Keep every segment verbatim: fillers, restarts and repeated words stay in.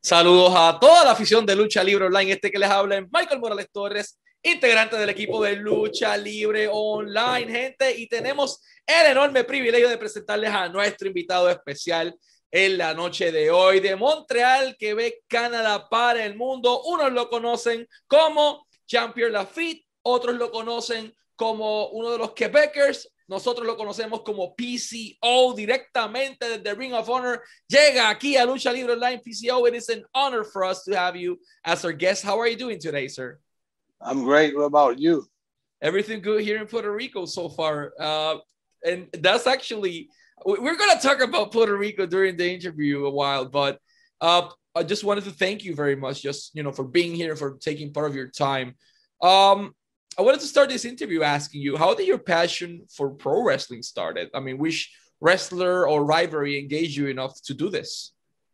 Saludos a toda la afición de Lucha Libre Online. Este que les habla es Michael Morales Torres, integrante del equipo de Lucha Libre Online, gente. Y tenemos el enorme privilegio de presentarles a nuestro invitado especial en la noche de hoy, de Montreal, Quebec, Canadá, para el mundo. Unos lo conocen como Jean-Pierre Lafitte, otros lo conocen como uno de los Quebecers. Nosotros lo conocemos como P C O, directamente desde Ring of Honor. Llega aquí a Lucha Libre Online. P C O, it is an honor for us to have you as our guest. How are you doing today, sir? I'm great. What about you? Everything good here in Puerto Rico so far. Uh, and that's actually, we're going to talk about Puerto Rico during the interview a while, but uh, I just wanted to thank you very much, just, you know, for being here, for taking part of your time. Um, I wanted to start this interview asking you, how did your passion for pro wrestling started? I mean, which wrestler or rivalry engaged you enough to do this?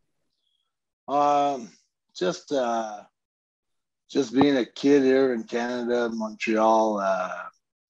Um, just uh, just being a kid here in Canada, Montreal, uh,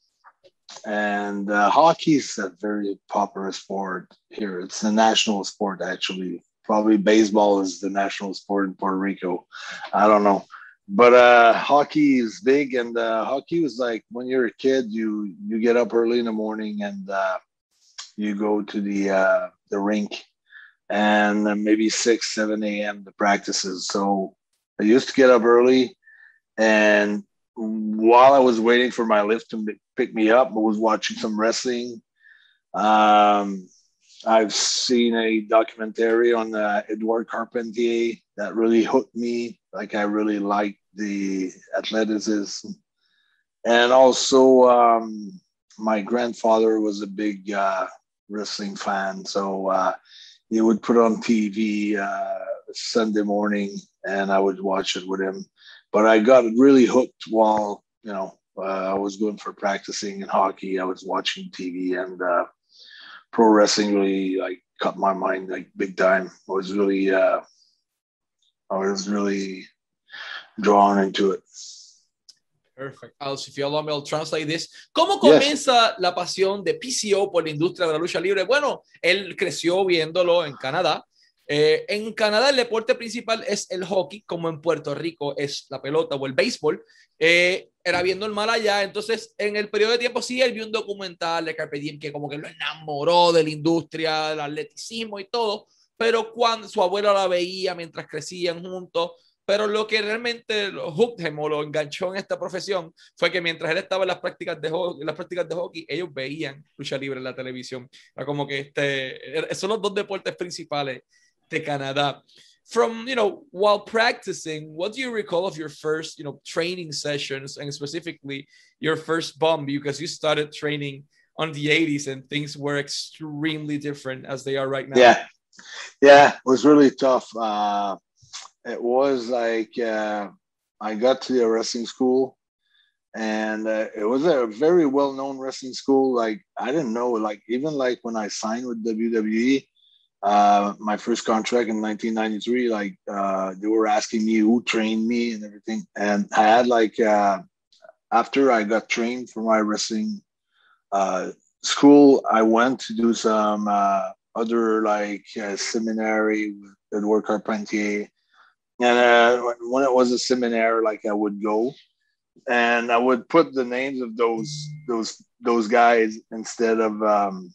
and uh, hockey is a very popular sport here. It's a national sport, actually. Probably baseball is the national sport in Puerto Rico. I don't know. But uh, hockey is big, and uh, hockey was like when you're a kid, you you get up early in the morning and uh, you go to the uh, the rink, and then maybe six, seven a m the practices. So I used to get up early, and while I was waiting for my lift to pick me up, I was watching some wrestling. Um, I've seen a documentary on uh, Edouard Carpentier that really hooked me. Like I really liked the athleticism. And also um, my grandfather was a big uh, wrestling fan. So uh, he would put on T V uh, Sunday morning and I would watch it with him. But I got really hooked while, you know, uh, I was going for practicing in hockey. I was watching T V and uh, pro wrestling really like caught my mind like big time. I was really, uh, I was really drawn into it. Perfect. Also, if you allow me, I'll translate this. ¿Cómo comienza yes. la pasión de P C O por la industria de la lucha libre? Bueno, él creció viéndolo en Canadá. Eh, en Canadá el deporte principal es el hockey, como en Puerto Rico es la pelota o el béisbol. Eh, era bien normal allá. Entonces, en el periodo de tiempo sí, él vio un documental de Carpe Diem que como que lo enamoró de la industria, del atleticismo y todo, pero cuando su abuelo la veía mientras crecían juntos, pero lo que realmente lo hooked him o lo enganchó en esta profesión fue que mientras él estaba en las prácticas de hockey, en las prácticas de hockey ellos veían lucha libre en la televisión. Era como que este, son los dos deportes principales de Canadá. From, you know, while practicing, what do you recall of your first, you know, training sessions and specifically your first bump? Because you started training on the eighties and things were extremely different as they are right now. Yeah, yeah, it was really tough. Uh, it was like uh, I got to the wrestling school and uh, it was a very well-known wrestling school. Like I didn't know, like even like when I signed with W W E, uh my first contract in nineteen ninety-three, like uh they were asking me who trained me and everything, and I had like uh after I got trained for my wrestling uh school, I went to do some uh other like uh, seminary with Edouard Carpentier, and uh when it was a seminary, like I would go and I would put the names of those those those guys instead of um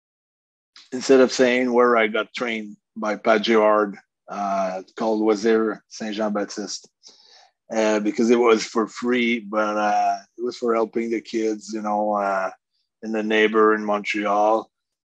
instead of saying where I got trained by Pat Girard, uh, called Wazir Saint Jean Baptiste, uh, because it was for free, but uh, it was for helping the kids, you know, uh, in the neighbor in Montreal.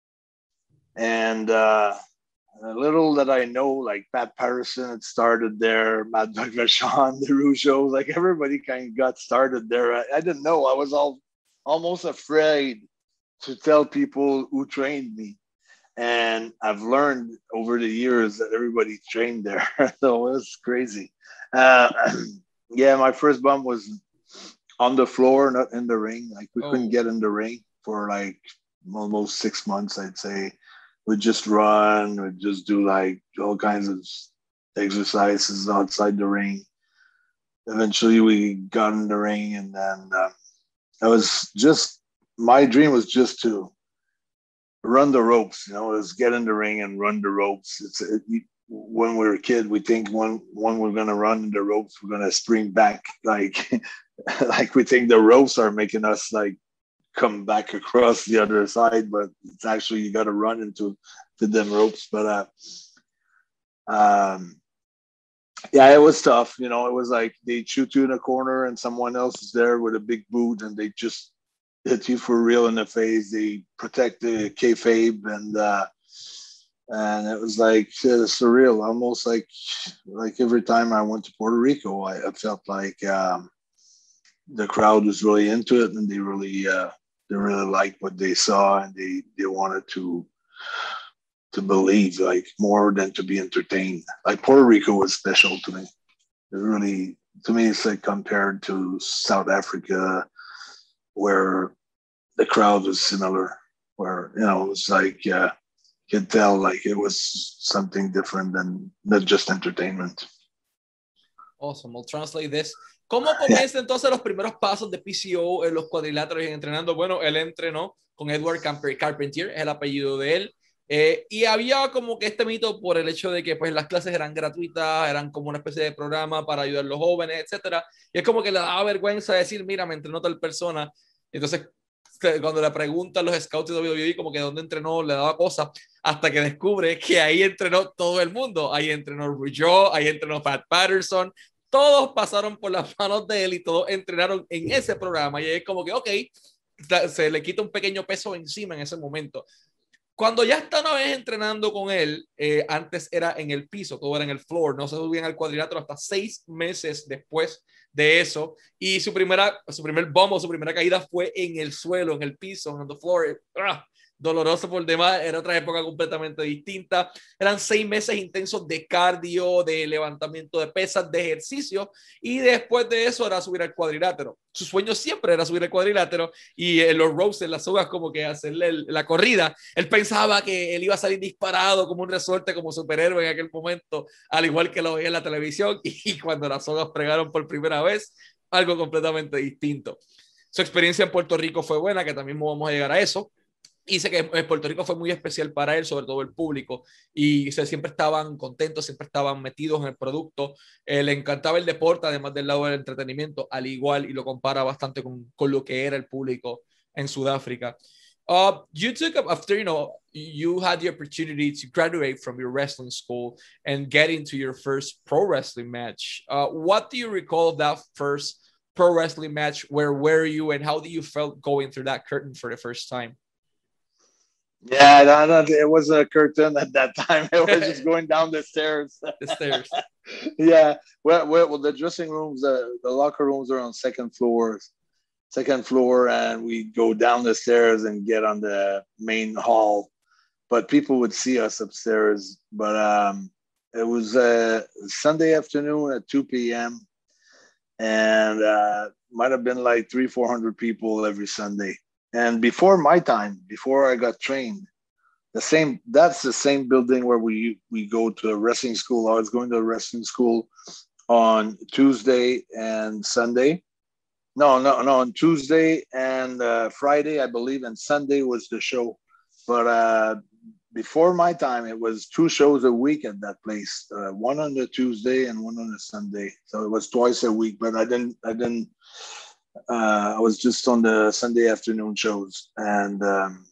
And uh, a little that I know, like Pat Patterson had started there, Mad Dog Vachon, the Rougeau, like everybody kind of got started there. I, I didn't know. I was all almost afraid to tell people who trained me. And I've learned over the years that everybody trained there. So it was crazy. Uh, yeah, my first bump was on the floor, not in the ring. Like we oh. couldn't get in the ring for like almost six months, I'd say. We'd just run, we'd just do like all kinds of exercises outside the ring. Eventually we got in the ring, and then uh, I was just, my dream was just to run the ropes, you know, is get in the ring and run the ropes. It's it, when we were a kid, we think when when we're gonna run the ropes, we're gonna spring back, like like we think the ropes are making us like come back across the other side, but it's actually you got to run into to them ropes. But uh, um, yeah, it was tough. You know, it was like they shoot you in a corner, and someone else is there with a big boot, and they just hit you for real in the face. They protect the kayfabe, and uh, and it was like uh, surreal, almost like like every time I went to Puerto Rico, I, I felt like um, the crowd was really into it, and they really. Uh, They really liked what they saw, and they, they wanted to to believe, like more than to be entertained. Like Puerto Rico was special to me. It really, to me, it's like compared to South Africa, where the crowd was similar. Where you know it was like uh, you could tell like it was something different than not just entertainment. Awesome. I'll translate this. ¿Cómo comienza entonces los primeros pasos de P C O en los cuadriláteros y entrenando? Bueno, él entrenó con Edward Carpentier, es el apellido de él. Eh, y había como que este mito por el hecho de que pues las clases eran gratuitas, eran como una especie de programa para ayudar a los jóvenes, etcétera. Y es como que le daba vergüenza decir, mira, me entrenó tal persona. Entonces, cuando le preguntan los scouts de W W E como que dónde entrenó, le daba cosas, hasta que descubre que ahí entrenó todo el mundo. Ahí entrenó Rougeau, ahí entrenó Pat Patterson. Todos pasaron por las manos de él y todos entrenaron en ese programa. Y es como que, ok, se le quita un pequeño peso encima en ese momento. Cuando ya está una vez entrenando con él, eh, antes era en el piso, todo era en el floor, no se subían al cuadrilátero hasta seis meses después de eso. Y su, primera, su primer bombo, su primera caída fue en el suelo, en el piso, en el floor. ¡Ah! Doloroso por demás, era otra época completamente distinta. Eran seis meses intensos de cardio, de levantamiento de pesas, de ejercicio, y después de eso era subir al cuadrilátero. Su sueño siempre era subir al cuadrilátero, y en los ropes, en las sogas, como que hacerle el, la corrida. Él pensaba que él iba a salir disparado como un resorte, como superhéroe en aquel momento, al igual que lo veía en la televisión, y cuando las sogas pregaron por primera vez, algo completamente distinto. Su experiencia en Puerto Rico fue buena, que también vamos a llegar a eso. Y sé que Puerto Rico fue muy especial para él, sobre todo el público, y o sea, siempre estaban contentos, siempre estaban metidos en el producto. Eh, le encantaba el deporte, además del lado del entretenimiento, al igual, y lo compara bastante con, con lo que era el público en Sudáfrica. Uh, you took up after, you know, you had the opportunity to graduate from your wrestling school and get into your first pro wrestling match. Uh, what do you recall of that first pro wrestling match? Where were you, and how do you felt going through that curtain for the first time? Yeah, no, no, it wasn't a curtain at that time. It was just going down the stairs. The stairs. Yeah. Well, well, the dressing rooms, uh, the locker rooms are on second floors, second floor, and we go down the stairs and get on the main hall. But people would see us upstairs. But um, it was a Sunday afternoon at two p.m. and uh, might have been like three, four hundred people every Sunday. And before my time, before I got trained, the same that's the same building where we we go to a wrestling school. I was going to a wrestling school on Tuesday and Sunday. No, no, no, on Tuesday and uh, Friday, I believe, and Sunday was the show. But uh, before my time, it was two shows a week at that place, uh, one on the Tuesday and one on the Sunday. So it was twice a week. But I didn't, I didn't. Uh, I was just on the Sunday afternoon shows, and um,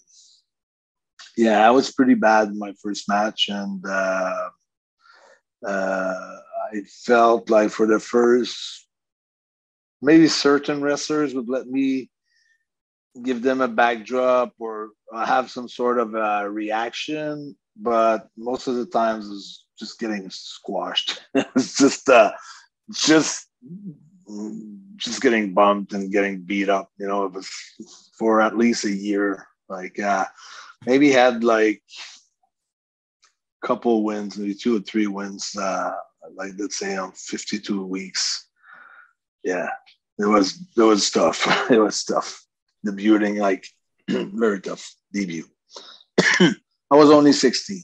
yeah, I was pretty bad in my first match, and uh, uh, I felt like for the first, maybe certain wrestlers would let me give them a backdrop or have some sort of a reaction, but most of the times it was just getting squashed. It was just, uh, just. just getting bumped and getting beat up, you know. It was for at least a year. Like uh, maybe had like a couple wins, maybe two or three wins, uh, like let's say on fifty-two weeks. Yeah, it was, it was tough. It was tough. Debuting, like very tough debut. I was only sixteen.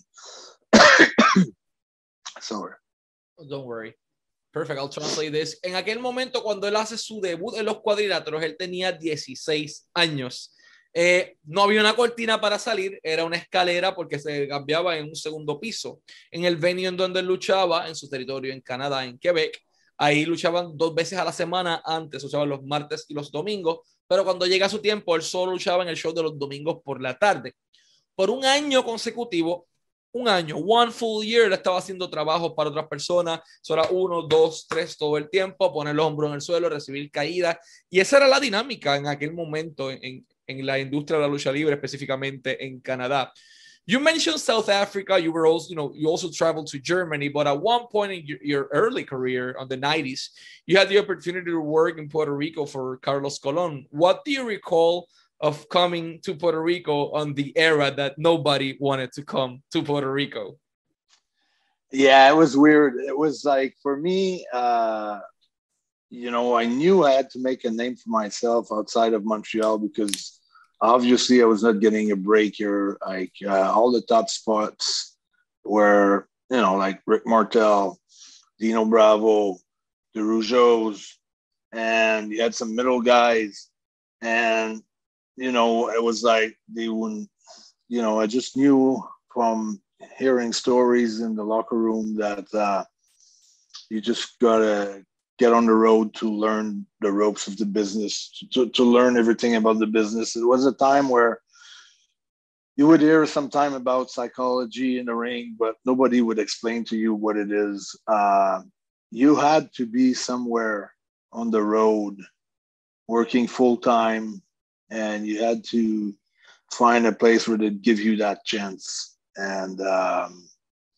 Sorry. Oh, don't worry. Perfect, I'll translate this. En aquel momento, cuando él hace su debut en los cuadriláteros, él tenía dieciséis años. Eh, no había una cortina para salir, era una escalera porque se cambiaba en un segundo piso. En el venue en donde él luchaba, en su territorio en Canadá, en Quebec, ahí luchaban dos veces a la semana, antes luchaban los martes y los domingos, pero cuando llega su tiempo, él solo luchaba en el show de los domingos por la tarde. Por un año consecutivo, un año, one full year, él estaba haciendo trabajos para otras personas, solo uno, dos, tres todo el tiempo, poner el hombro en el suelo, recibir caídas, y esa era la dinámica en aquel momento en, en la industria de la lucha libre, específicamente en Canadá. You mentioned South Africa. You were also, you know, you also traveled to Germany, but at one point in your, your early career, on the nineties, you had the opportunity to work in Puerto Rico for Carlos Colon. What do you recall of coming to Puerto Rico on the era that nobody wanted to come to Puerto Rico? Yeah, it was weird. It was like, for me, uh, you know, I knew I had to make a name for myself outside of Montreal because obviously I was not getting a break here. Like uh, all the top spots were, you know, like Rick Martel, Dino Bravo, the Rougeaus, and you had some middle guys. And, you know, it was like they wouldn't, you know, I just knew from hearing stories in the locker room that uh, you just got to get on the road to learn the ropes of the business, to, to learn everything about the business. It was a time where you would hear some time about psychology in the ring, but nobody would explain to you what it is. Uh, you had to be somewhere on the road working full time, and you had to find a place where they'd give you that chance. And um,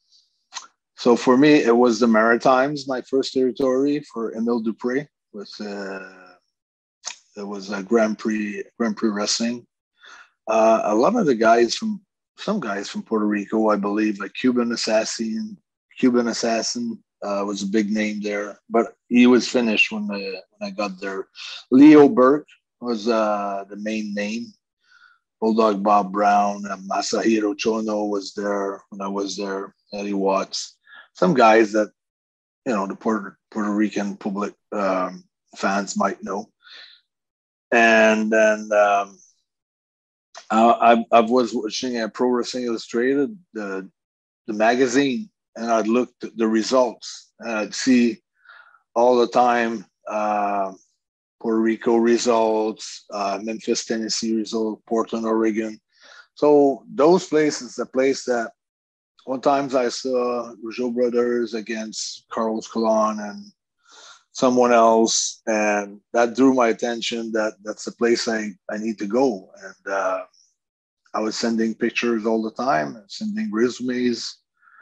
so for me, it was the Maritimes, my first territory for Emile Dupré. With uh, it was a Grand Prix Grand Prix wrestling. Uh, a lot of the guys from some guys from Puerto Rico, I believe, like Cuban Assassin. Cuban Assassin uh, was a big name there, but he was finished when I, when I got there. Leo Burke was uh, the main name. Bulldog Bob Brown, and Masahiro Chono was there when I was there. Eddie Watts. Some guys that, you know, the Puerto, Puerto Rican public um, fans might know. And then um, I, I was watching at Pro Wrestling Illustrated, the, the magazine, and I'd look at the results, and I'd see all the time uh, Puerto Rico results, uh, Memphis, Tennessee results, Portland, Oregon. So those places, the place that one times I saw Rougeau Brothers against Carlos Colon and someone else, and that drew my attention that that's the place I, I need to go. And uh, I was sending pictures all the time, sending resumes,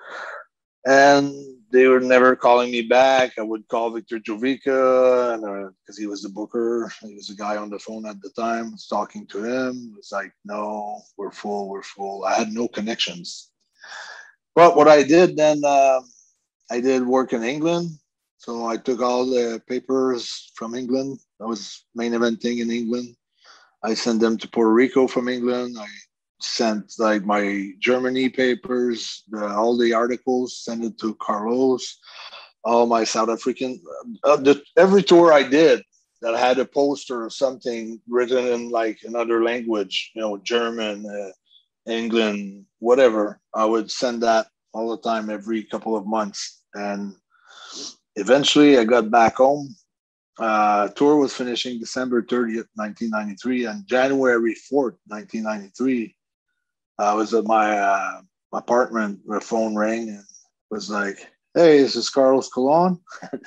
and they were never calling me back. I would call Victor Jovica because uh, he was the booker. He was the guy on the phone at the time. I was talking to him. It was like, no, we're full, we're full. I had no connections. But what I did then, uh, I did work in England. So I took all the papers from England. I was main eventing in England. I sent them to Puerto Rico from England. I sent like my Germany papers, the, all the articles, sent it to Carlos, all my South African, uh, the, every tour I did that had a poster or something written in like another language, you know, German, uh, England, whatever, I would send that all the time, every couple of months. And eventually I got back home. Uh, tour was finishing December thirtieth, nineteen ninety-three, and January fourth, nineteen ninety-three, I was at my uh, apartment, the phone rang and was like, hey, this is Carlos Colon.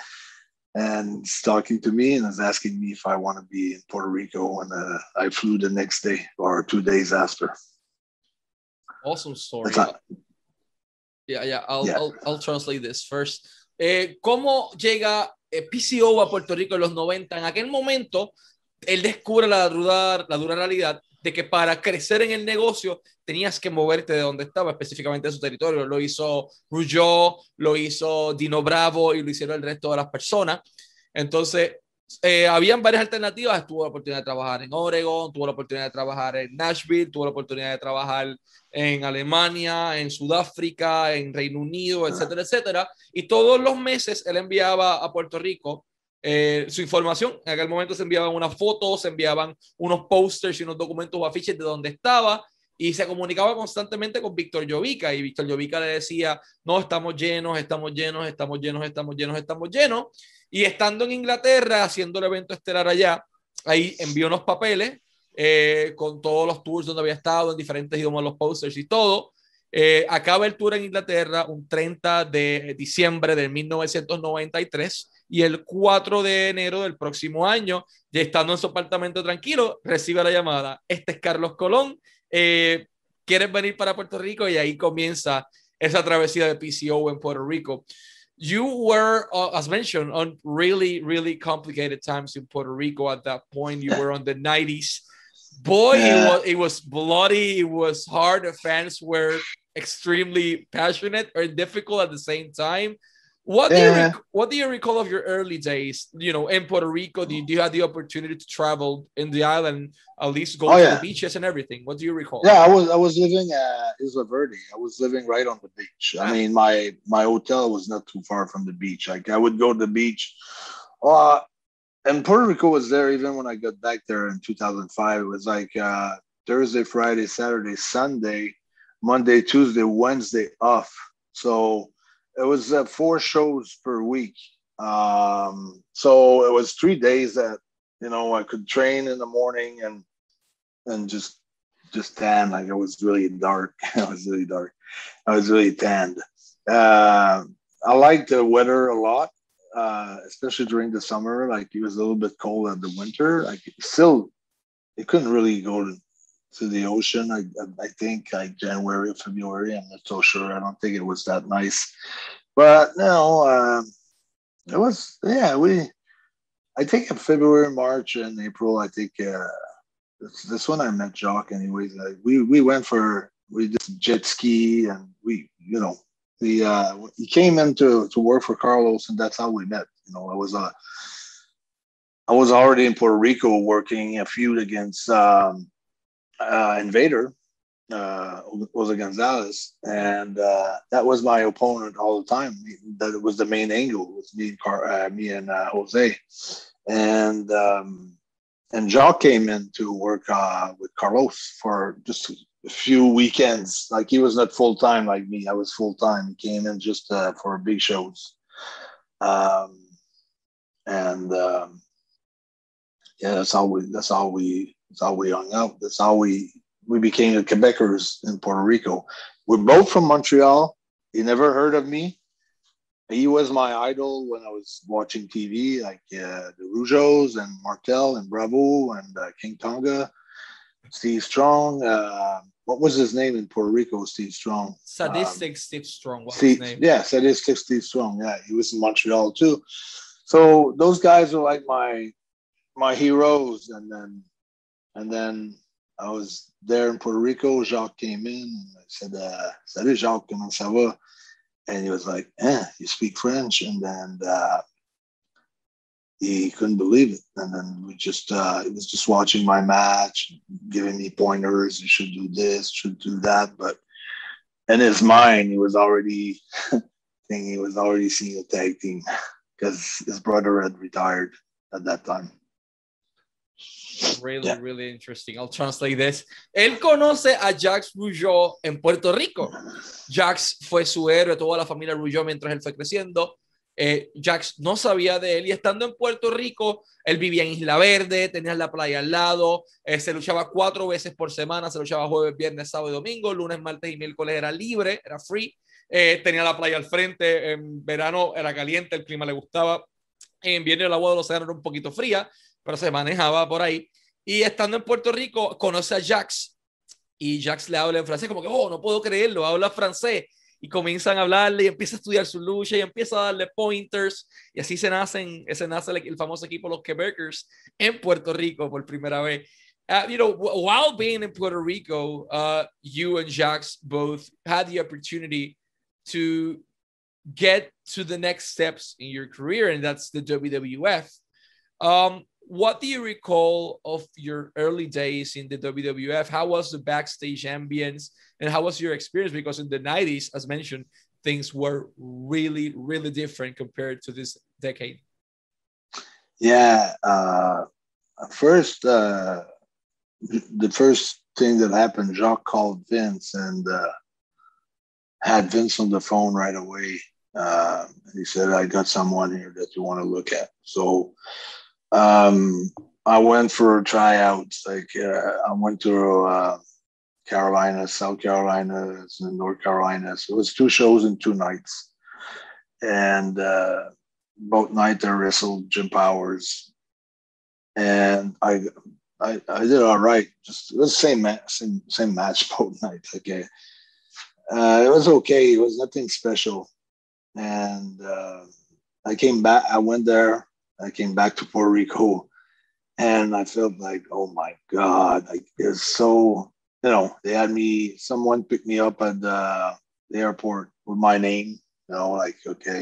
And he's talking to me and is asking me if I want to be in Puerto Rico. And uh, I flew the next day or two days after. Awesome story. Not, yeah, yeah. I'll, yeah. I'll, I'll translate this first. Eh, ¿Cómo llega eh, P C O a Puerto Rico en los noventa? En aquel momento, él descubre la dura, la dura realidad de que para crecer en el negocio tenías que moverte de donde estaba, específicamente de su territorio. Lo hizo Rougeau, lo hizo Dino Bravo y lo hicieron el resto de las personas. Entonces, eh, habían varias alternativas. Tuvo la oportunidad de trabajar en Oregon, tuvo la oportunidad de trabajar en Nashville, tuvo la oportunidad de trabajar en Alemania, en Sudáfrica, en Reino Unido, etcétera, etcétera. Y todos los meses él enviaba a Puerto Rico eh, su información. En aquel momento se enviaban unas fotos, se enviaban unos posters y unos documentos o afiches de dónde estaba, y se comunicaba constantemente con Víctor Llovica, y Víctor Llovica le decía, no, estamos llenos, estamos llenos, estamos llenos, estamos llenos, estamos llenos. Y estando en Inglaterra, haciendo el evento estelar allá, ahí envió unos papeles eh, con todos los tours donde había estado, en diferentes idiomas, los posters y todo. Eh, acaba el tour en Inglaterra un treinta de diciembre de mil novecientos noventa y tres, y el cuatro de enero del próximo año, ya estando en su apartamento tranquilo, recibe la llamada. Este es Carlos Colón, eh, ¿quieres venir para Puerto Rico? Y ahí comienza esa travesía de P C O en Puerto Rico. You were, uh, as mentioned, on really, really complicated times in Puerto Rico at that point. You were on the nineties. Boy, yeah. it was it was bloody. It was hard. The fans were extremely passionate or difficult at the same time. What yeah. do you rec- what do you recall of your early days? You know, in Puerto Rico, do you, do you have the opportunity to travel in the island, at least go oh, to yeah. the beaches and everything? What do you recall? Yeah, I was I was living at Isla Verde. I was living right on the beach. I mean, my my hotel was not too far from the beach. Like I would go to the beach. Uh, and Puerto Rico was there even when I got back there in two thousand five. It was like uh, Thursday, Friday, Saturday, Sunday, Monday, Tuesday, Wednesday off. So it was uh, four shows per week. Um, so it was three days that, you know, I could train in the morning and and just just tan. Like it was really dark. It was really dark. I was really tanned. Uh, I liked the weather a lot, uh, especially during the summer. Like it was a little bit cold in the winter. Like it still, you couldn't really go to, to the ocean. I, I think like January, February. I'm not so sure. I don't think it was that nice. But no, uh, it was, yeah, we, I think in February, March, and April, I think uh, this, this when I met Jacques anyways. Like we, we went for, we just jet ski and we, you know, we, uh, he came in to, to work for Carlos and that's how we met. You know, I was, uh, I was already in Puerto Rico working a feud against um, uh, Invader. Uh, Jose Gonzalez, and uh, that was my opponent all the time. That was the main angle. It was me and Car- uh, me and uh, Jose, and um, and Jacques came in to work uh, with Carlos for just a few weekends. Like he was not full time like me. I was full time. He came in just uh, for big shows, um, and um, yeah, that's how we. That's how we. That's how we hung out. That's how we. We became the Quebecers in Puerto Rico. We're both from Montreal. He never heard of me. He was my idol when I was watching T V, like uh, the Rougeos and Martel and Bravo and uh, King Tonga, Steve Strong. Uh, what was his name in Puerto Rico? Steve Strong. Sadistic um, Steve Strong. What's Steve, his name? Yeah, Sadistic Steve Strong. Yeah, he was in Montreal too. So those guys are like my my heroes. And then and then. I was there in Puerto Rico. Jacques came in and I said, uh, Salut Jacques, comment ça va? And he was like, eh, you speak French? And then uh, he couldn't believe it. And then we just, uh, he was just watching my match, giving me pointers. You should do this, should do that. But in his mind, he was already thinking he was already seeing a tag team because his brother had retired at that time. Really, yeah. really interesting. I'll translate this. Él conoce a Jacques Rougeau en Puerto Rico. Jacques fue su héroe, toda la familia Rougeau mientras él fue creciendo. Eh, Jacques no sabía de él y estando en Puerto Rico, él vivía en Isla Verde, tenía la playa al lado, eh, se luchaba cuatro veces por semana, se luchaba jueves, viernes, sábado y domingo, lunes, martes y miércoles era libre, era free, eh, tenía la playa al frente, en verano era caliente, el clima le gustaba, en invierno el agua del océano era un poquito fría, pero se manejaba por ahí. Y estando en Puerto Rico, conoce a Jacques y Jacques le habla en francés, como que, oh, no puedo creerlo, habla francés. Y comienzan a hablarle y empieza a estudiar su lucha y empieza a darle pointers. Y así se, nacen, se nace el, el famoso equipo Los Quebecers en Puerto Rico por primera vez. Uh, you know, while being in Puerto Rico, uh, you and Jacques both had the opportunity to get to the next steps in your career, and that's the W W F. Um, what do you recall of your early days in the W W F? How was the backstage ambience and how was your experience? Because in the nineties, as mentioned, things were really, really different compared to this decade. Yeah. Uh, first, uh, the first thing that happened, Jacques called Vince and uh, had Vince on the phone right away. Uh, he said, I got someone here that you want to look at. So um, I went for tryouts. Like uh, I went to uh, Carolina, South Carolina, and North Carolina. So it was two shows in two nights. And uh, both nights I wrestled Jim Powers. And I I, I did all right. Just it was the same match, same, same match both nights. Okay. Uh, it was okay. It was nothing special. And uh, I came back. I went there. I came back to Puerto Rico, and I felt like, oh my god, like it's so. You know, they had me. Someone picked me up at the, the airport with my name. You know, like okay,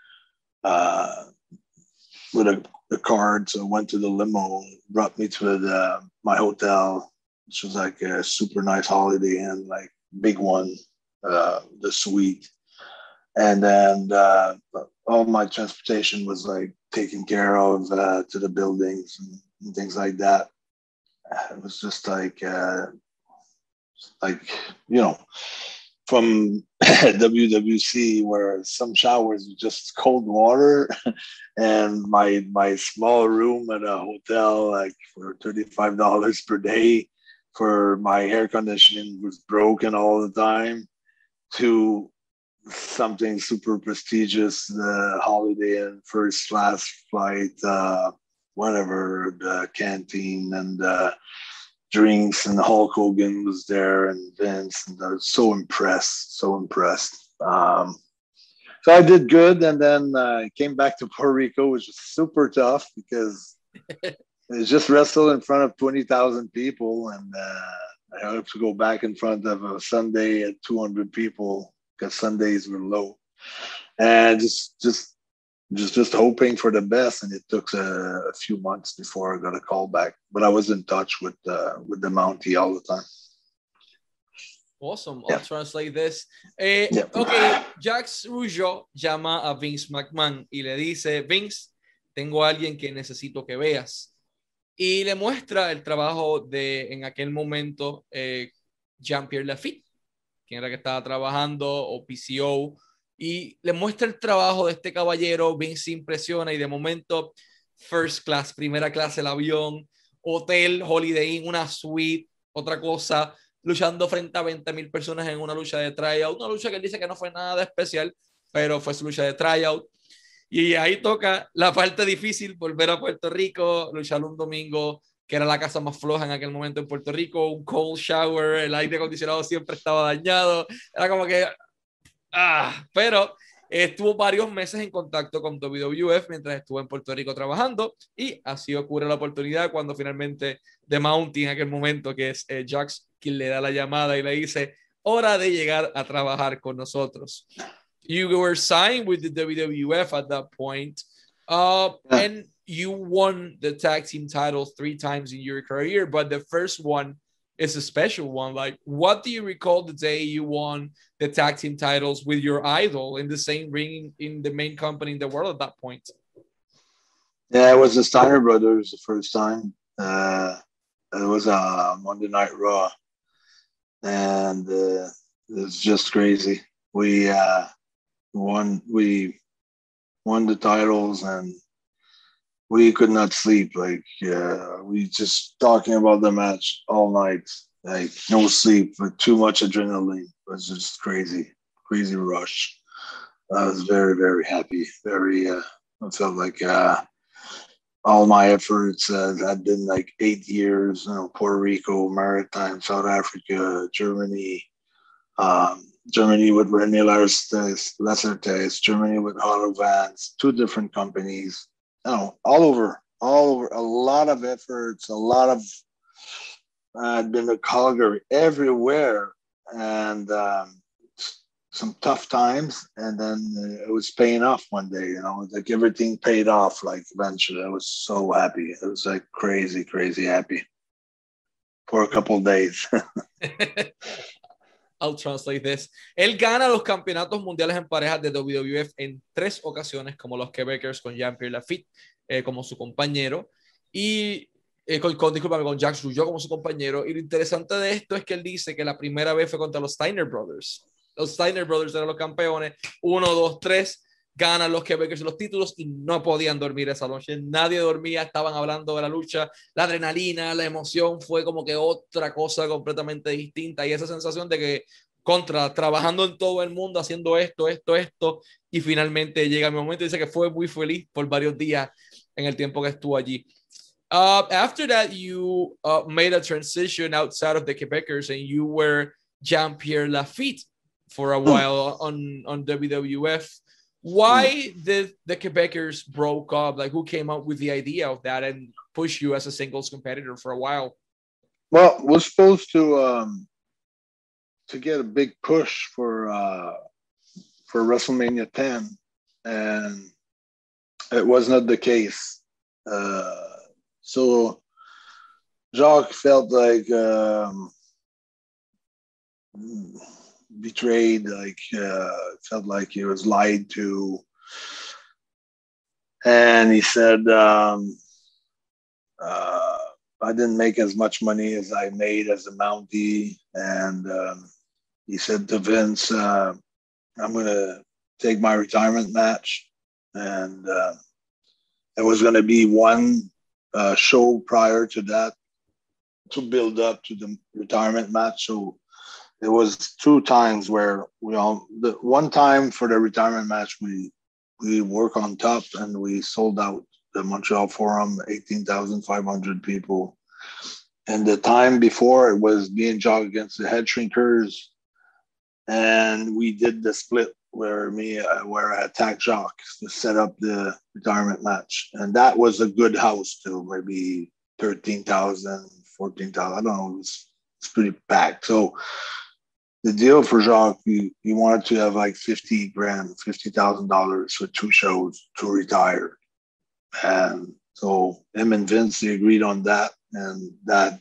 uh, with a, a card. So I went to the limo, brought me to the my hotel, which was like a super nice Holiday Inn, like big one, uh, the suite. And then uh, all my transportation was like taken care of uh, to the buildings and, and things like that. It was just like, uh, like you know, from W W C where some showers were just cold water, and my my small room at a hotel like for thirty-five dollars per day, for my air conditioning was broken all the time, to something super prestigious, the Holiday Inn first class flight, uh, whatever, the canteen and uh, drinks, and Hulk Hogan was there and Vince, and I was so impressed, so impressed. Um, so I did good, and then I uh, came back to Puerto Rico, which was super tough because it's just wrestled in front of twenty thousand people, and uh, I have to go back in front of a Sunday at two hundred people because Sundays were low, and just just just just hoping for the best. And it took a, a few months before I got a call back, but I was in touch with uh, with the Mountie all the time. Awesome. I'll yeah. translate this. Eh, yeah. Ok, Jacques Rougeau llama a Vince McMahon y le dice, Vince, tengo a alguien que necesito que veas. Y le muestra el trabajo de, en aquel momento, eh, Jean-Pierre Lafitte, quien era que estaba trabajando, o P C O, y le muestra el trabajo de este caballero. Vince se impresiona y de momento, first class, primera clase el avión, hotel, Holiday Inn, una suite, otra cosa, luchando frente a veinte mil personas en una lucha de tryout, una lucha que él dice que no fue nada de especial, pero fue su lucha de tryout. Y ahí toca la parte difícil, volver a Puerto Rico, luchar un domingo, que era la casa más floja en aquel momento en Puerto Rico, un cold shower, el aire acondicionado siempre estaba dañado, era como que, ah, pero estuvo varios meses en contacto con W W F mientras estuvo en Puerto Rico trabajando, y así ocurre la oportunidad cuando finalmente The Mountie, en aquel momento, que es eh, Jacques, quien le da la llamada y le dice, hora de llegar a trabajar con nosotros. You were signed with the W W F at that point, uh, yeah. and you won the tag team titles three times in your career, but the first one is a special one. Like, what do you recall the day you won the tag team titles with your idol in the same ring in the main company in the world at that point? Yeah, it was the Steiner Brothers the first time. Uh, it was a Monday Night Raw, and uh, it was just crazy. We uh, won. We won the titles, and we could not sleep. Like uh, we just talking about the match all night. Like no sleep, but too much adrenaline. It was just crazy, crazy rush. I was very, very happy. Very. Uh, I felt like uh, all my efforts uh, had been like eight years. You know, Puerto Rico, Maritime, South Africa, Germany. Um, Germany with René Lessertes, Germany with Hollow Vans, two different companies. You know, all over, all over, a lot of efforts, a lot of, uh, I'd been to Calgary, everywhere, and um, some tough times, and then it was paying off one day, you know, like everything paid off, like eventually. I was so happy. It was like crazy, crazy happy for a couple of days. I'll translate this. Él gana los campeonatos mundiales en parejas de W W F en tres ocasiones, como los Quebecers con Jean-Pierre Lafitte eh, como su compañero y eh, con, con, disculpa, con Jacques Rougeau como su compañero. Y lo interesante de esto es que él dice que la primera vez fue contra los Steiner Brothers. Los Steiner Brothers eran los campeones. Uno, dos, tres. Ganan los Quebecers los títulos y no podían dormir esa noche. Nadie dormía, estaban hablando de la lucha, la adrenalina, la emoción, fue como que otra cosa completamente distinta y esa sensación de que contra, trabajando en todo el mundo, haciendo esto, esto, esto, y finalmente llega mi momento. Dice que fue muy feliz por varios días en el tiempo que estuvo allí. Uh, after that, you uh, made a transition outside of the Quebecers and you were Jean-Pierre Lafitte for a while on, on W W F. Why did the Quebecers broke up? Like, who came up with the idea of that and push you as a singles competitor for a while? Well, we're supposed to um, to get a big push for uh, for WrestleMania ten, and it was not the case. Uh, so Jacques felt like um, betrayed, like uh, felt like he was lied to, and he said, um, uh, "I didn't make as much money as I made as a Mountie," and um, he said to Vince, uh, "I'm going to take my retirement match," and uh, there was going to be one uh, show prior to that to build up to the retirement match. So there was two times where we all, the one time for the retirement match, we we work on top and we sold out the Montreal Forum, eighteen thousand five hundred people. And the time before, it was me and Jacques against the Head Shrinkers, and we did the split where me uh, where I attacked Jacques to set up the retirement match, and that was a good house too, maybe thirteen thousand, fourteen thousand. I don't know, it was, it's pretty packed. So the deal for Jacques, he, he wanted to have like fifty grand, fifty thousand dollars for two shows to retire. And so him and Vince, they agreed on that. And that,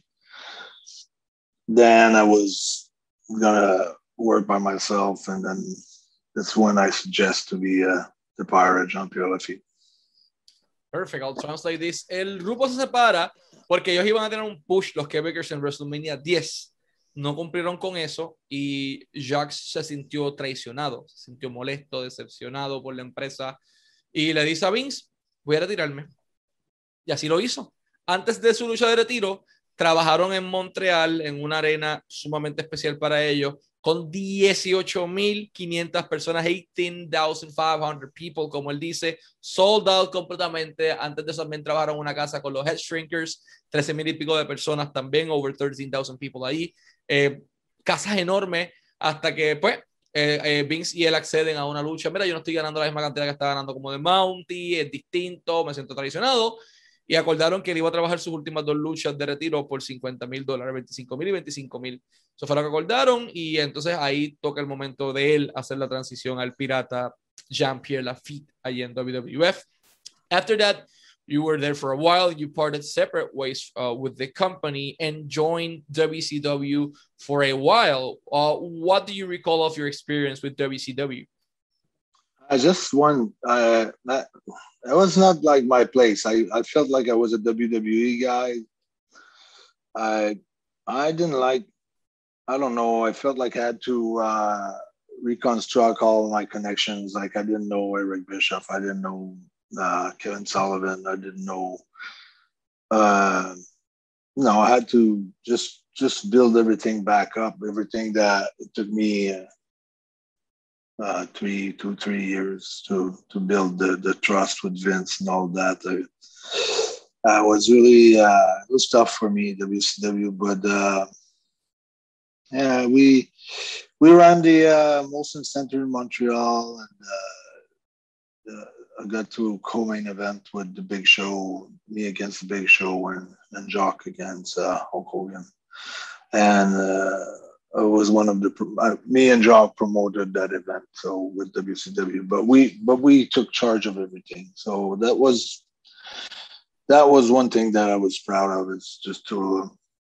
then I was gonna work by myself. And then that's when I suggest to be uh, the pirate Jean-Pierre Lafitte. Perfect, I'll translate this. El grupo se separa porque ellos iban a tener un push, los Quebecers, en WrestleMania diez. No cumplieron con eso y Jacques se sintió traicionado, se sintió molesto, decepcionado por la empresa y le dice a Vince, voy a retirarme. Y así lo hizo. Antes de su lucha de retiro, trabajaron en Montreal en una arena sumamente especial para ellos con dieciocho mil quinientas personas, eighteen thousand five hundred people, como él dice, sold out completamente. Antes de eso también trabajaron en una casa con los Head Shrinkers, trece mil y pico de personas también, over thirteen thousand people ahí. Eh, casas enormes, hasta que pues eh, eh, Vince y él acceden a una lucha. Mira, yo no estoy ganando la misma cantidad que está ganando como de Mountie, es distinto, me siento traicionado. Y acordaron que él iba a trabajar sus últimas dos luchas de retiro por cincuenta mil dólares, veinticinco mil y veinticinco mil. Eso fue lo que acordaron y entonces ahí toca el momento de él hacer la transición al pirata Jean-Pierre Lafitte allí en W W F. After that, you were there for a while. You parted separate ways uh, with the company and joined W C W for a while. Uh, what do you recall of your experience with W C W? I just won. Uh, that, that was not like my place. I, I felt like I was a W W E guy. I I didn't like, I don't know, I felt like I had to uh, reconstruct all my connections. Like I didn't know Eric Bischoff. I didn't know uh, Kevin Sullivan. I didn't know, uh, no, I had to just just build everything back up, everything that it took me uh, uh, three, two, three years to to build the, the trust with Vince and all that. I, I was really, uh, it was tough for me, W C W, but uh, yeah, we we ran the uh, Molson Center in Montreal, and uh, uh, I got to co-main event with the Big Show, me against the Big Show, and, and Jacques against uh, Hulk Hogan. And uh, it was one of the, uh, me and Jacques promoted that event, so with W C W, but we, but we took charge of everything. So that was, that was one thing that I was proud of, is just to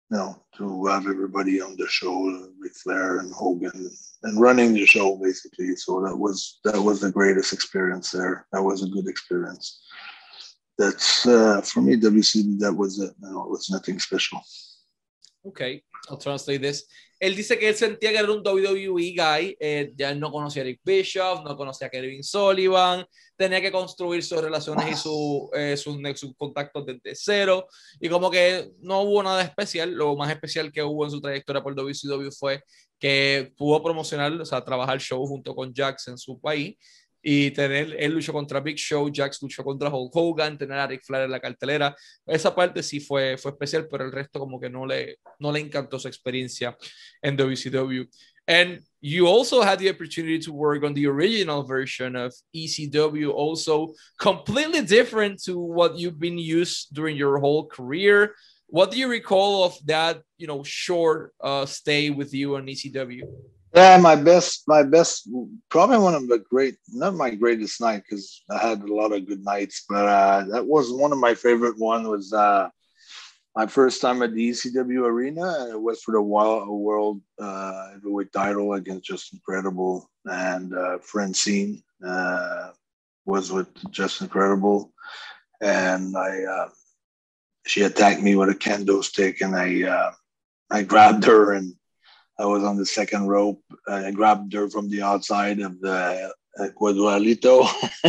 you know, to have everybody on the show, Ric Flair and Hogan, and running the show basically. So that was that was the greatest experience there. That was a good experience. That's uh, for me, W C W. That was it. No, it was nothing special. Okay, I'll translate this. Él dice que él sentía que era un W W E guy, eh, ya no conocía a Eric Bischoff, no conocía a Kevin Sullivan, tenía que construir sus relaciones y su, eh, sus, sus contactos desde cero, y como que no hubo nada especial. Lo más especial que hubo en su trayectoria por W C W fue que pudo promocionar, o sea, trabajar show junto con Jax en su país, y tener, él luchó contra Big Show, Jax luchó contra Hulk Hogan, tener a Ric Flair en la cartelera. Esa parte sí fue, fue especial, pero el resto como que no le, no le encantó su experiencia en W C W. And you also had the opportunity to work on the original version of E C W, also completely different to what you've been used during your whole career. What do you recall of that, you know, short uh, stay with you on E C W? Yeah, my best, my best, probably one of the great, not my greatest night, because I had a lot of good nights, but uh, that was one of my favorite one was uh, my first time at the E C W arena, and it was for the Wild World uh, Heavyweight title against Justin Credible, and uh, Francine uh, was with Justin Credible, and I, uh, she attacked me with a kendo stick, and I, uh, I grabbed her and I was on the second rope. I grabbed her from the outside of the uh, Quadralito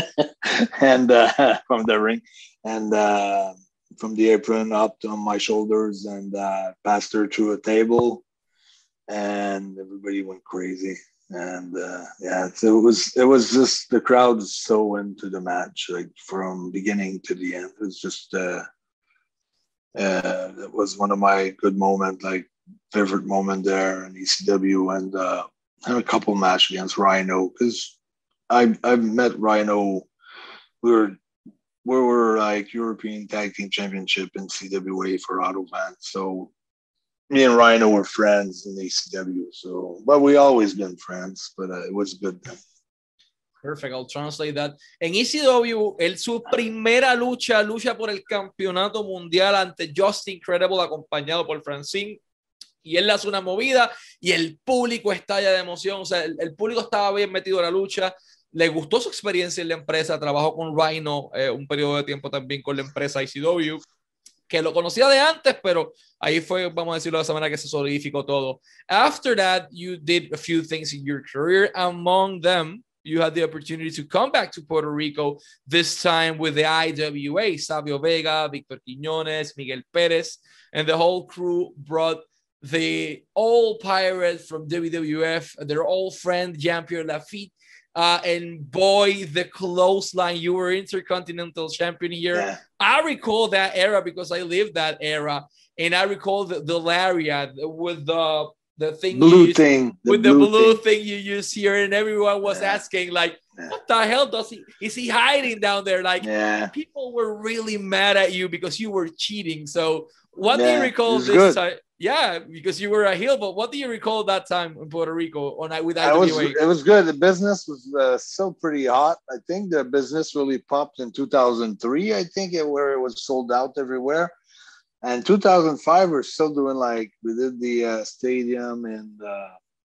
and uh, from the ring and uh, from the apron up on my shoulders and uh, passed her through a table, and everybody went crazy. And uh, yeah, so it was it was just the crowd was so into the match, like from beginning to the end. It was just uh, uh, it was one of my good moments, like. Favorite moment there in E C W, and uh, had a couple matches against Rhino because I I met Rhino. We were we were like European Tag Team Championship in C W A for Autobahn. So me and Rhino were friends in E C W. So, but we always been friends. But uh, it was good. Perfect, I'll translate that. En E C W, él su primera lucha, lucha por el campeonato mundial ante Justin Credible, acompañado por Francine. Y él le hace una movida y el público estalla de emoción. O sea, el, el público estaba bien metido en la lucha. Le gustó su experiencia en la empresa. Trabajó con Rhino eh, un periodo de tiempo también con la empresa E C W, que lo conocía de antes, pero ahí fue, vamos a decirlo de esa manera, que se solidificó todo. After that, you did a few things in your career. Among them, you had the opportunity to come back to Puerto Rico, this time with the I W A. Savio Vega, Victor Quiñones, Miguel Pérez, and the whole crew brought the old Pirates from W W F, their old friend Jean-Pierre Lafitte, uh, and boy, the clothesline. You were Intercontinental Champion here. Yeah. I recall that era because I lived that era, and I recall the, the lariat with the the thing blue used, thing the with blue the blue thing. thing you use here, and everyone was yeah. asking like, yeah. "What the hell does he? Is he hiding down there?" Like, yeah. people were really mad at you because you were cheating. So, what yeah, do you recall this good. time? Yeah, because you were a heel, but what do you recall that time in Puerto Rico on with I W A? Was, it was good. The business was uh, still pretty hot. I think the business really popped in two thousand three, I think, it, where it was sold out everywhere. And two thousand five, we're still doing like, we did the uh, stadium and uh,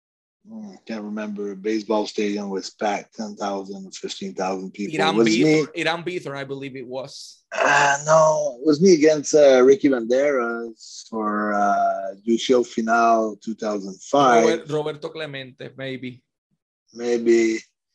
I can't remember, baseball stadium was packed, ten thousand, fifteen thousand people. Irán Bithorn, Irán Bithorn, I believe it was. Uh, no, it was me against uh, Ricky Banderas for uh, Juicio Final two thousand five. Robert, Roberto Clemente, maybe. Maybe.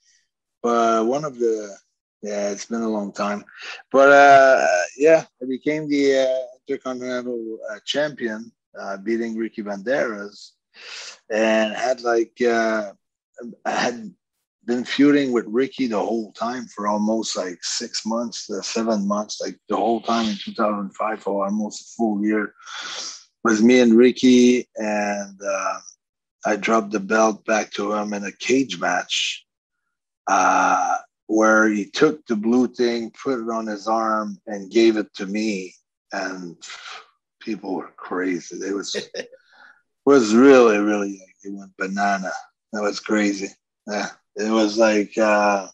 But one of the, yeah, it's been a long time. But uh, yeah, I became the uh, Intercontinental uh, Champion, uh, beating Ricky Banderas. And had like, uh, I had been feuding with Ricky the whole time for almost like six months, uh, seven months, like the whole time in two thousand five for almost a full year. It was me and Ricky, and uh, I dropped the belt back to him in a cage match uh, where he took the blue thing, put it on his arm, and gave it to me. And people were crazy. They was was really, really, like, they went banana. That was crazy. Yeah. It was like, uh,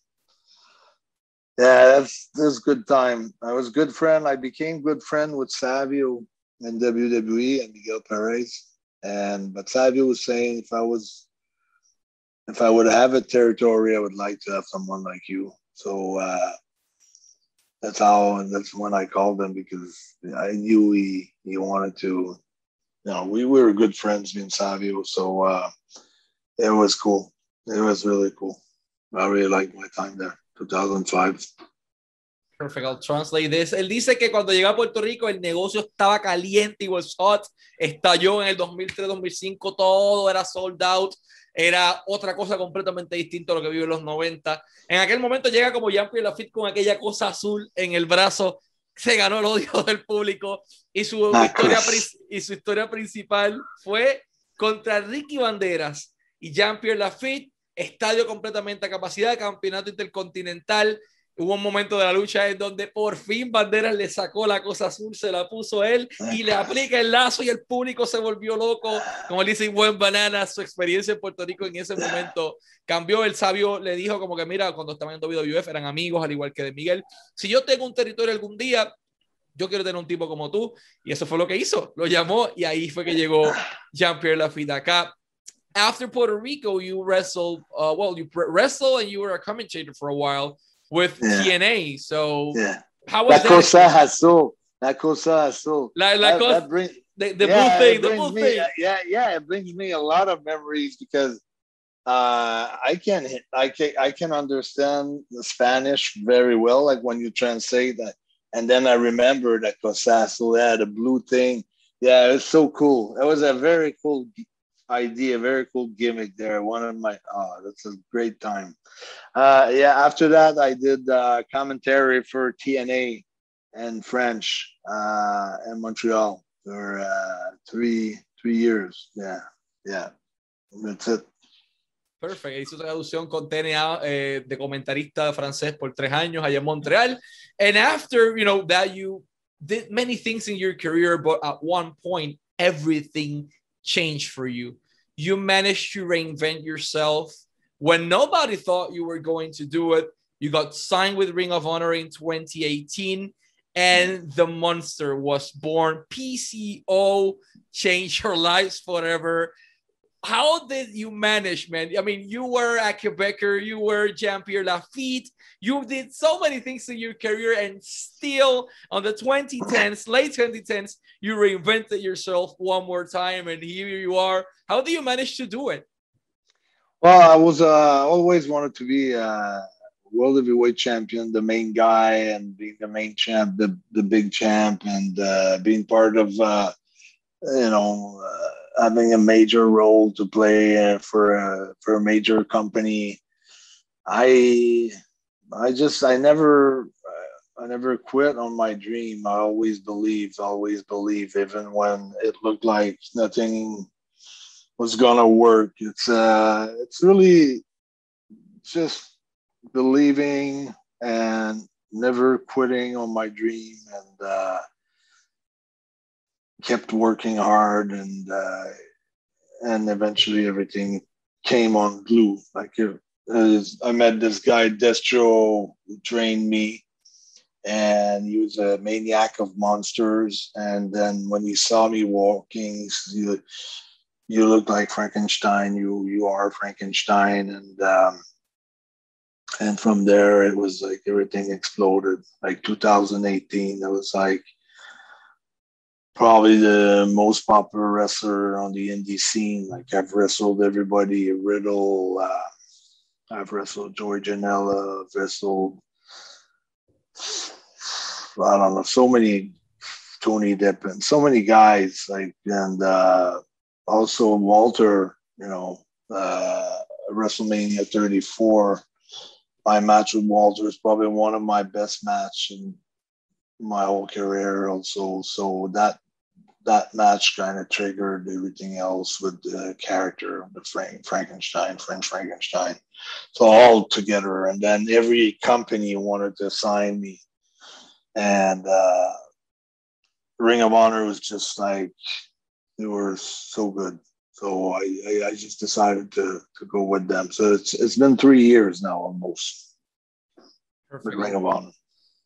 yeah, that's this good time. I was good friend. I became good friend with Savio in W W E and Miguel Perez. And but Savio was saying if I was if I would have a territory, I would like to have someone like you. So uh, that's how and that's when I called him because I knew he he wanted to. You know, we, we were good friends, me and Savio. So uh, it was cool. It was really cool. I really liked my time there, two thousand five. Perfect, I'll translate this. Él dice que cuando llegó a Puerto Rico el negocio estaba caliente y was hot. Estalló en el dos mil tres, dos mil cinco, todo era sold out. Era otra cosa completamente distinta a lo que vive en los noventa. En aquel momento llega como Jean-Pierre Lafitte con aquella cosa azul en el brazo. Se ganó el odio del público y su, Ah, historia, y su historia principal fue contra Ricky Banderas y Jean-Pierre Lafitte. Estadio completamente a capacidad, campeonato intercontinental. Hubo un momento de la lucha en donde por fin Banderas le sacó la cosa azul, se la puso él y le aplica el lazo y el público se volvió loco. Como le dice Buen Banana, su experiencia en Puerto Rico en ese momento cambió. El Sabio le dijo como que mira, cuando estaban en W W F eran amigos, al igual que de Miguel. Si yo tengo un territorio algún día, yo quiero tener un tipo como tú. Y eso fue lo que hizo. Lo llamó y ahí fue que llegó Jean-Pierre Lafitte acá. After Puerto Rico, you wrestled, uh, well, you wrestled and you were a commentator for a while with yeah. T N A. So yeah. how was La that? Cosa Azul. La Cosa Azul. La, la that, cosa, that bring, the, the yeah, blue thing, the blue me, thing. Yeah, yeah, it brings me a lot of memories because uh, I can I can I can understand the Spanish very well, like when you translate that. And then I remember that Cosa Azul had a blue thing. Yeah, it's so cool. It was a very cool idea, very cool gimmick there. One of my oh, that's a great time. Uh, yeah, after that I did uh, commentary for T N A and French uh, in Montreal for uh, three three years. Yeah, yeah, that's it. Perfect. Hizo traducción con T N A eh, de comentarista francés por tres años allá en Montreal. And after, you know, that you did many things in your career, but at one point, everything changed for you. You managed to reinvent yourself when nobody thought you were going to do it. You got signed with Ring of Honor in twenty eighteen, and the monster was born. P C O changed your lives forever. How did you manage, man? I mean, you were a Quebecer, you were Jean-Pierre Lafitte, you did so many things in your career, and still on the twenty tens, late twenty tens, you reinvented yourself one more time, and here you are. How do you manage to do it? Well, I was uh, always wanted to be a world heavyweight champion, the main guy, and being the main champ, the, the big champ, and uh, being part of, uh, you know, uh, having a major role to play uh, for a for a major company. I I just I never I never quit on my dream. I always believed, always believed, even when it looked like nothing was gonna work. It's uh it's really just believing and never quitting on my dream, and uh kept working hard, and uh and eventually everything came on glue. Like it, I met this guy Destro who trained me, and he was a maniac of monsters. And then when he saw me walking, he said, you look like Frankenstein. You you are Frankenstein. And um, and from there, it was like everything exploded. Like two thousand eighteen, it was like probably the most popular wrestler on the indie scene. Like I've wrestled everybody, Riddle. Uh, I've wrestled George Janela. I've wrestled, I don't know, so many, Tony Deppen, so many guys. Like and. Uh, Also, Walter, you know, uh, WrestleMania thirty-four, my match with Walter is probably one of my best match in my whole career. Also, so that that match kind of triggered everything else with the character, the Frank, Frankenstein, French Frankenstein. So all together, and then every company wanted to sign me, and uh, Ring of Honor was just like. They were so good, so I, I, I just decided to to go with them. So it's it's been three years now almost. Perfect. Ring of Honor.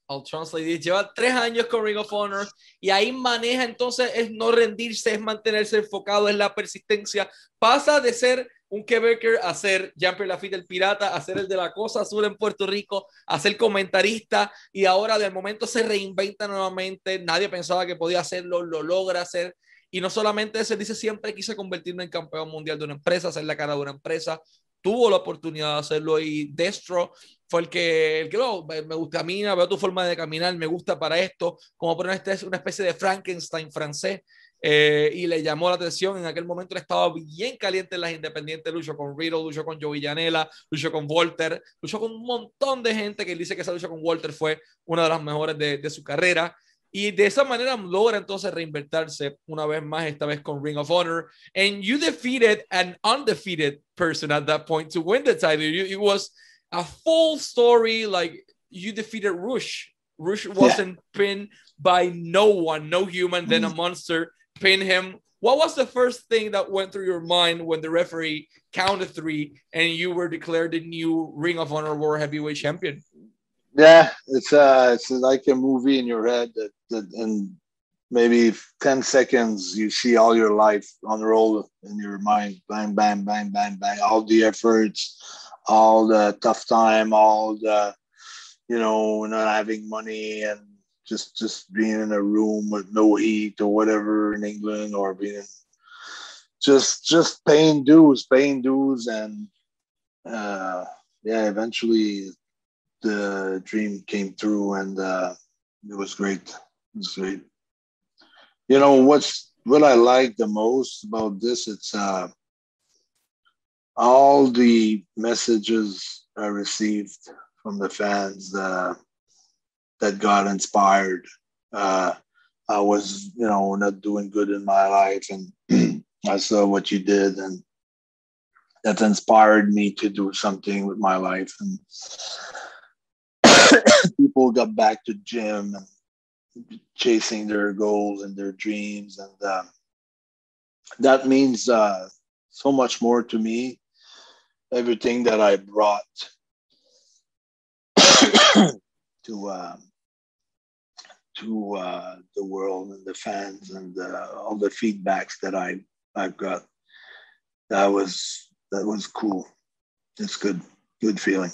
I'll translate it. Lleva tres años con Ring of Honor y ahí maneja, entonces es no rendirse, es mantenerse enfocado, es la persistencia. Pasa de ser un Quebecer a ser Jean-Pierre Lafitte el pirata, a ser el de la Cosa Azul en Puerto Rico, a ser comentarista y ahora de momento se reinventa nuevamente. Nadie pensaba que podía hacerlo, lo logra hacer. Y no solamente eso, dice siempre quise convertirme en campeón mundial de una empresa, hacer la cara de una empresa. Tuvo la oportunidad de hacerlo y Destro fue el que, el que no, me gusta, camina, veo tu forma de caminar, me gusta para esto, como poner este, una especie de Frankenstein francés, eh, y le llamó la atención. En aquel momento él estaba bien caliente en las independientes, luchó con Riddle, luchó con Joey Janela, luchó con Walter, luchó con un montón de gente que él dice que esa lucha con Walter fue una de las mejores de, de su carrera. Y de esa manera logra entonces reinvertirse una vez más, esta vez con Ring of Honor. And you defeated an undefeated person at that point to win the title. You, it was a full story. Like you defeated Rush. Rush wasn't yeah. pinned by no one, no human. Then a monster pinned him. What was the first thing that went through your mind when the referee counted three and you were declared the new Ring of Honor World Heavyweight Champion? Yeah, it's uh, it's like a movie in your head that, that in maybe ten seconds you see all your life unroll in your mind. Bang, bang, bang, bang, bang. All the efforts, all the tough time, all the, you know, not having money and just just being in a room with no heat or whatever in England, or being just just paying dues, paying dues, and uh, yeah, eventually the dream came through, and uh, it was great. It was great. You know what's what I like the most about this? It's uh, all the messages I received from the fans uh, that got inspired. Uh, I was, you know, not doing good in my life, and I saw what you did, and that inspired me to do something with my life. And people got back to gym and chasing their goals and their dreams, and uh, that means uh, so much more to me. Everything that I brought to uh, to uh, the world and the fans, and uh, all the feedbacks that I I've got, that was that was cool. It's good, good feeling.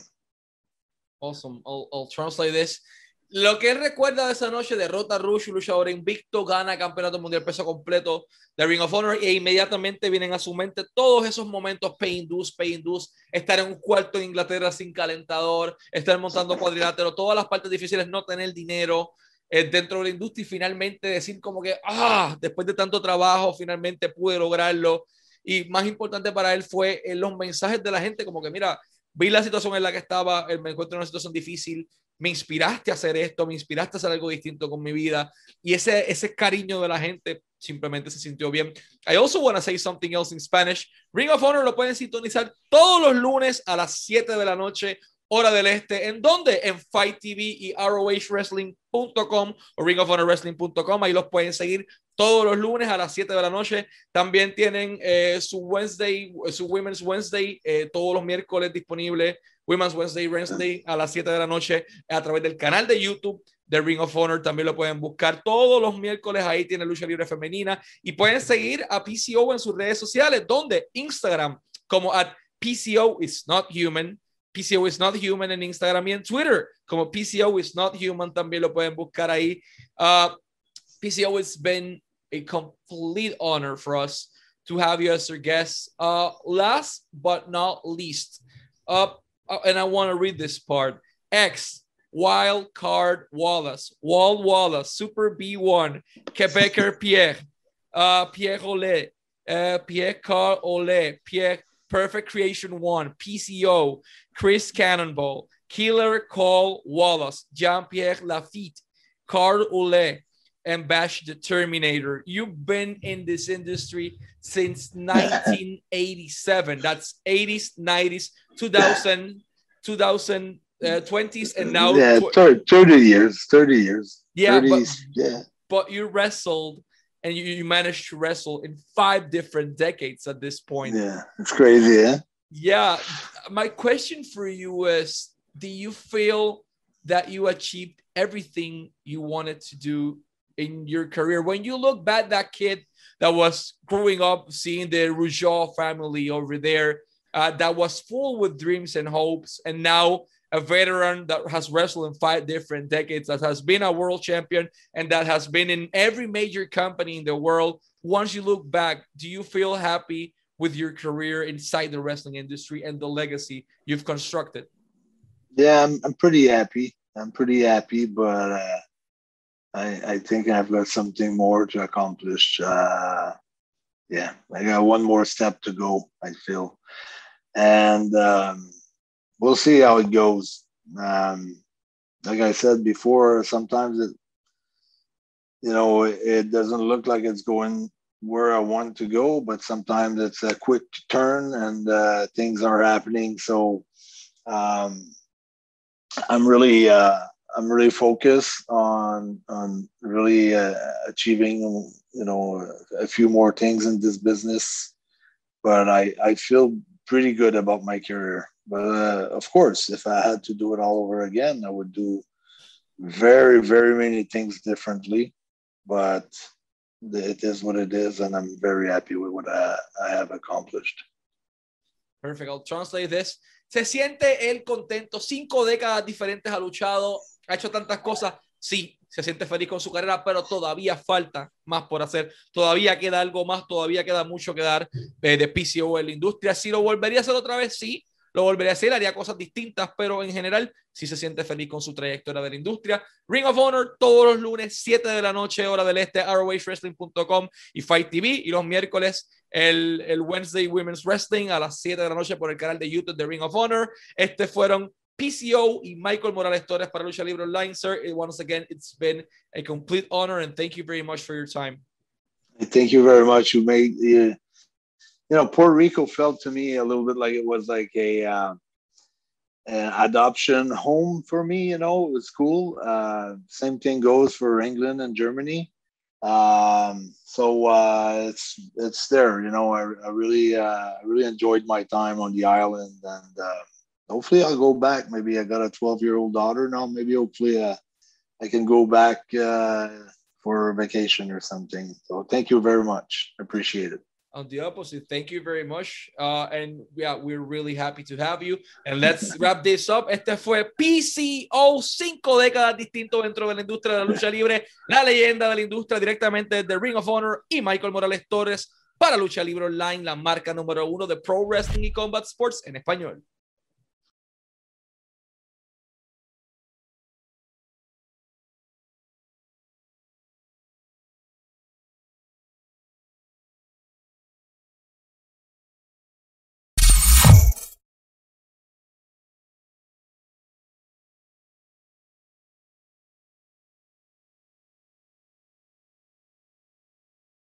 Awesome. I'll, I'll translate this. Lo que él recuerda de esa noche: derrota a Rush, luchador invicto, gana campeonato mundial peso completo de Ring of Honor, e inmediatamente vienen a su mente todos esos momentos: pay dues, pay dues, estar en un cuarto en Inglaterra sin calentador, estar montando cuadrilátero, todas las partes difíciles, no tener dinero eh, dentro de la industria, y finalmente decir como que, ah, después de tanto trabajo, finalmente pude lograrlo. Y más importante para él fue eh, los mensajes de la gente, como que mira, vi la situación en la que estaba, me encuentro en una situación difícil, me inspiraste a hacer esto, me inspiraste a hacer algo distinto con mi vida, y ese, ese cariño de la gente simplemente se sintió bien. I also want to say something else in Spanish. Ring of Honor lo pueden sintonizar todos los lunes a las siete de la noche, hora del este. ¿En dónde? En Fight T V y R O H Wrestling punto com o Ring of Honor Wrestling punto com. Ahí los pueden seguir todos los lunes a las siete de la noche. También tienen eh, su Wednesday, su Women's Wednesday, eh, todos los miércoles disponible. Women's Wednesday, Wednesday a las siete de la noche a través del canal de YouTube de Ring of Honor. También lo pueden buscar todos los miércoles. Ahí tiene lucha libre femenina, y pueden seguir a P C O en sus redes sociales, donde Instagram como at P C O is not human. P C O is not human en Instagram, y en Twitter como P C O is not human también lo pueden buscar ahí. Uh, P C O, it's been a complete honor for us to have you as our guest. Uh, last but not least, uh, and I want to read this part. X, Wild Card Wallace, Wald Wallace, Super B one, Quebecer Pierre, uh, Pierre Olé, uh, Pierre Carl Olé, Pierre Perfect Creation one, P C O, Chris Cannonball, Killer Cole Wallace, Jean-Pierre Lafitte, Carl Olé, and Bash the Terminator. You've been in this industry since nineteen eighty-seven. That's eighties, nineties, two thousand, two thousand twenties, and now yeah, thirty years, thirty years. Yeah, thirties, but, yeah. But you wrestled, and you, you managed to wrestle in five different decades at this point. Yeah, it's crazy, yeah? Yeah. My question for you is, do you feel that you achieved everything you wanted to do in your career? When you look back, that kid that was growing up seeing the Rougeau family over there, uh, that was full with dreams and hopes, and now a veteran that has wrestled in five different decades, that has been a world champion, and that has been in every major company in the world. Once you look back, do you feel happy with your career inside the wrestling industry and the legacy you've constructed? Yeah, I'm, I'm pretty happy. I'm pretty happy, but uh, I, I think I've got something more to accomplish. Uh, yeah, I got one more step to go, I feel. And um, we'll see how it goes. Um, like I said before, sometimes it, you know, it, it doesn't look like it's going where I want to go, but sometimes it's a quick turn and uh, things are happening. So um, I'm really, uh, I'm really focused on on really uh, achieving, you know, a few more things in this business. But I I feel pretty good about my career. But uh, of course, if I had to do it all over again, I would do very, very many things differently. But it is what it is, and I'm very happy with what I, I have accomplished. Perfect. I'll translate this. ¿Se siente él contento? Cinco décadas diferentes ha luchado, ha hecho tantas cosas. Sí, se siente feliz con su carrera, pero todavía falta más por hacer. Todavía queda algo más, todavía queda mucho que dar eh, de P C O en la industria. Si lo volvería a hacer otra vez, sí, lo volvería a hacer, haría cosas distintas, pero en general sí se siente feliz con su trayectoria de la industria. Ring of Honor todos los lunes, siete de la noche, hora del este, R O H wrestling punto com y Fight T V, y los miércoles el, el Wednesday Women's Wrestling a las siete de la noche por el canal de YouTube de Ring of Honor. Este fueron P C O y Michael Morales Torres para Lucha Libre Online. Sir, once again, it's been a complete honor, and thank you very much for your time. Thank you very much. You made, you know, Puerto Rico felt to me a little bit like it was like a uh, an adoption home for me. You know, it was cool. Uh, same thing goes for England and Germany. Um, so uh, it's it's there. You know, I, I really uh, really enjoyed my time on the island, and uh, hopefully I'll go back. Maybe I got a twelve year old daughter now. Maybe hopefully uh, I can go back uh, for a vacation or something. So thank you very much. I appreciate it. On the opposite, thank you very much. Uh, and yeah, we're really happy to have you. And let's wrap this up. Este fue P C O, cinco décadas distintos dentro de la industria de la lucha libre, la leyenda de la industria directamente desde Ring of Honor y Michael Morales Torres para Lucha Libre Online, la marca número uno de Pro Wrestling y Combat Sports en español.